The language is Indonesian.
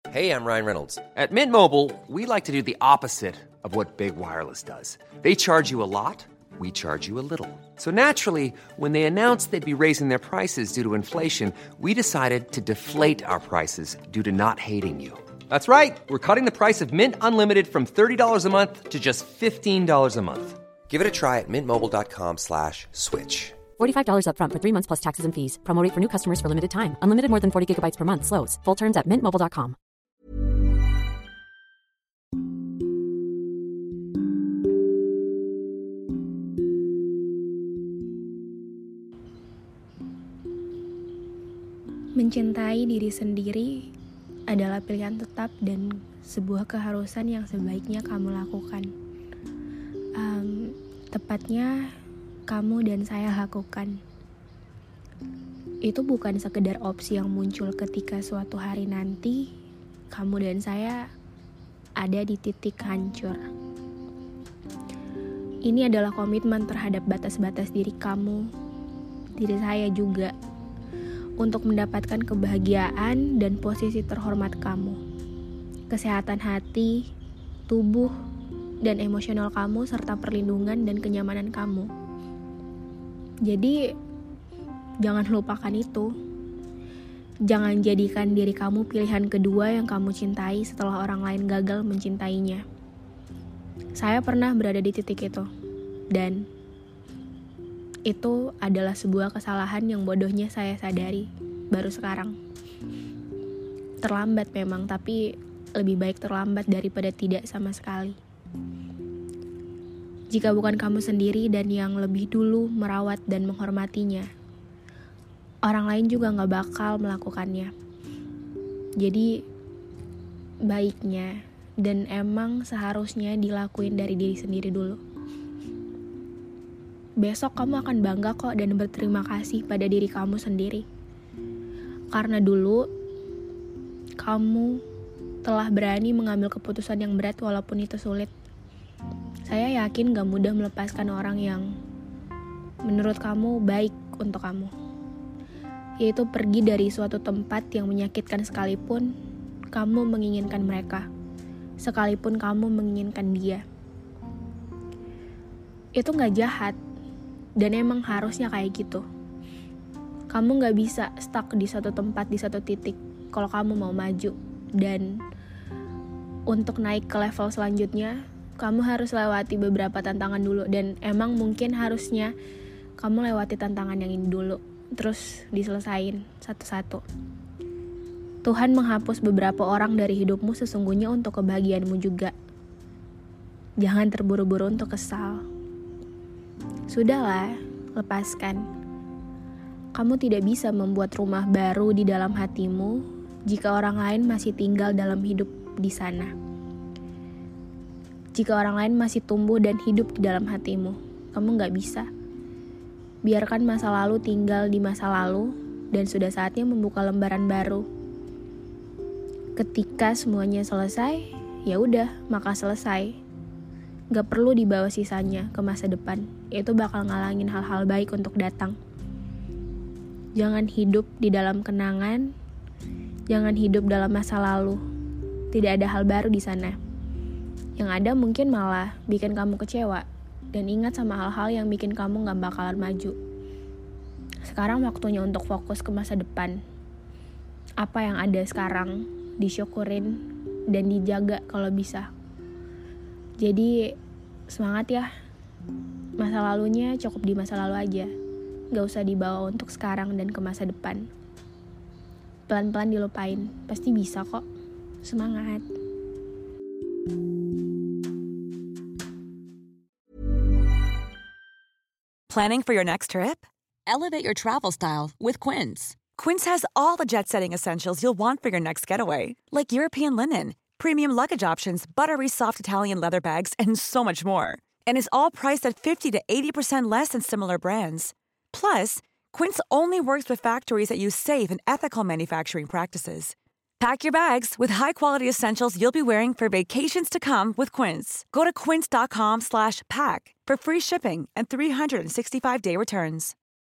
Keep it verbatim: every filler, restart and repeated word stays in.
Hey, I'm Ryan Reynolds. At Mint Mobile, we like to do the opposite of what Big Wireless does. They charge you a lot, we charge you a little. So naturally, when they announced they'd be raising their prices due to inflation, we decided to deflate our prices due to not hating you. That's right. We're cutting the price of Mint Unlimited from thirty dollars a month to just fifteen dollars a month. Give it a try at mintmobile.com slash switch. forty-five dollars up front for three months plus taxes and fees. Promo rate for new customers for limited time. Unlimited more than forty gigabytes per month. Slows full terms at mint mobile dot com. Mencintai diri sendiri adalah pilihan tetap dan sebuah keharusan yang sebaiknya kamu lakukan. Um, tepatnya kamu dan saya lakukan. Itu bukan sekedar opsi yang muncul ketika suatu hari nanti kamu dan saya ada di titik hancur. Ini adalah komitmen terhadap batas-batas diri kamu, diri saya juga, untuk mendapatkan kebahagiaan dan posisi terhormat kamu, kesehatan hati, tubuh, dan emosional kamu, serta perlindungan dan kenyamanan kamu. Jadi, jangan lupakan itu. Jangan jadikan diri kamu pilihan kedua yang kamu cintai setelah orang lain gagal mencintainya. Saya pernah berada di titik itu, dan itu adalah sebuah kesalahan yang bodohnya saya sadari baru sekarang. Terlambat memang, tapi lebih baik terlambat daripada tidak sama sekali. Jika bukan kamu sendiri dan yang lebih dulu merawat dan menghormatinya, orang lain juga gak bakal melakukannya. Jadi, baiknya dan emang seharusnya dilakuin dari diri sendiri dulu. Besok kamu akan bangga kok dan berterima kasih pada diri kamu sendiri. Karena dulu, kamu telah berani mengambil keputusan yang berat walaupun itu sulit. Saya yakin gak mudah melepaskan orang yang menurut kamu baik untuk kamu. Yaitu pergi dari suatu tempat yang menyakitkan sekalipun kamu menginginkan mereka. Sekalipun kamu menginginkan dia. Itu gak jahat. Dan emang harusnya kayak gitu. Kamu gak bisa stuck di satu tempat, di satu titik kalau kamu mau maju. Dan untuk naik ke level selanjutnya, kamu harus lewati beberapa tantangan dulu. Dan emang mungkin harusnya kamu lewati tantangan yang ini dulu, terus diselesain satu-satu. Tuhan menghapus beberapa orang dari hidupmu sesungguhnya untuk kebahagiaanmu juga. Jangan terburu-buru untuk kesal. Sudahlah, lepaskan. Kamu tidak bisa membuat rumah baru di dalam hatimu jika orang lain masih tinggal dalam hidup di sana. Jika orang lain masih tumbuh dan hidup di dalam hatimu, kamu gak bisa. Biarkan masa lalu tinggal di masa lalu dan sudah saatnya membuka lembaran baru. Ketika semuanya selesai, ya udah, maka selesai. Gak perlu dibawa sisanya ke masa depan. Itu bakal ngalangin hal-hal baik untuk datang. Jangan hidup di dalam kenangan. Jangan hidup dalam masa lalu. Tidak ada hal baru di sana. Yang ada mungkin malah bikin kamu kecewa. Dan ingat sama hal-hal yang bikin kamu gak bakalan maju. Sekarang waktunya untuk fokus ke masa depan. Apa yang ada sekarang disyukurin dan dijaga kalau bisa. Jadi semangat ya. Masa lalunya cukup di masa lalu aja. Gak usah dibawa untuk sekarang dan ke masa depan. Pelan-pelan dilupain. Pasti bisa kok. Semangat. Planning for your next trip? Elevate your travel style with Quince. Quince has all the jet-setting essentials you'll want for your next getaway, like European linen, premium luggage options, buttery soft Italian leather bags, and so much more. And is all priced at fifty to eighty percent less than similar brands. Plus, Quince only works with factories that use safe and ethical manufacturing practices. Pack your bags with high-quality essentials you'll be wearing for vacations to come with Quince. Go to quince.com slash pack for free shipping and three sixty-five day returns.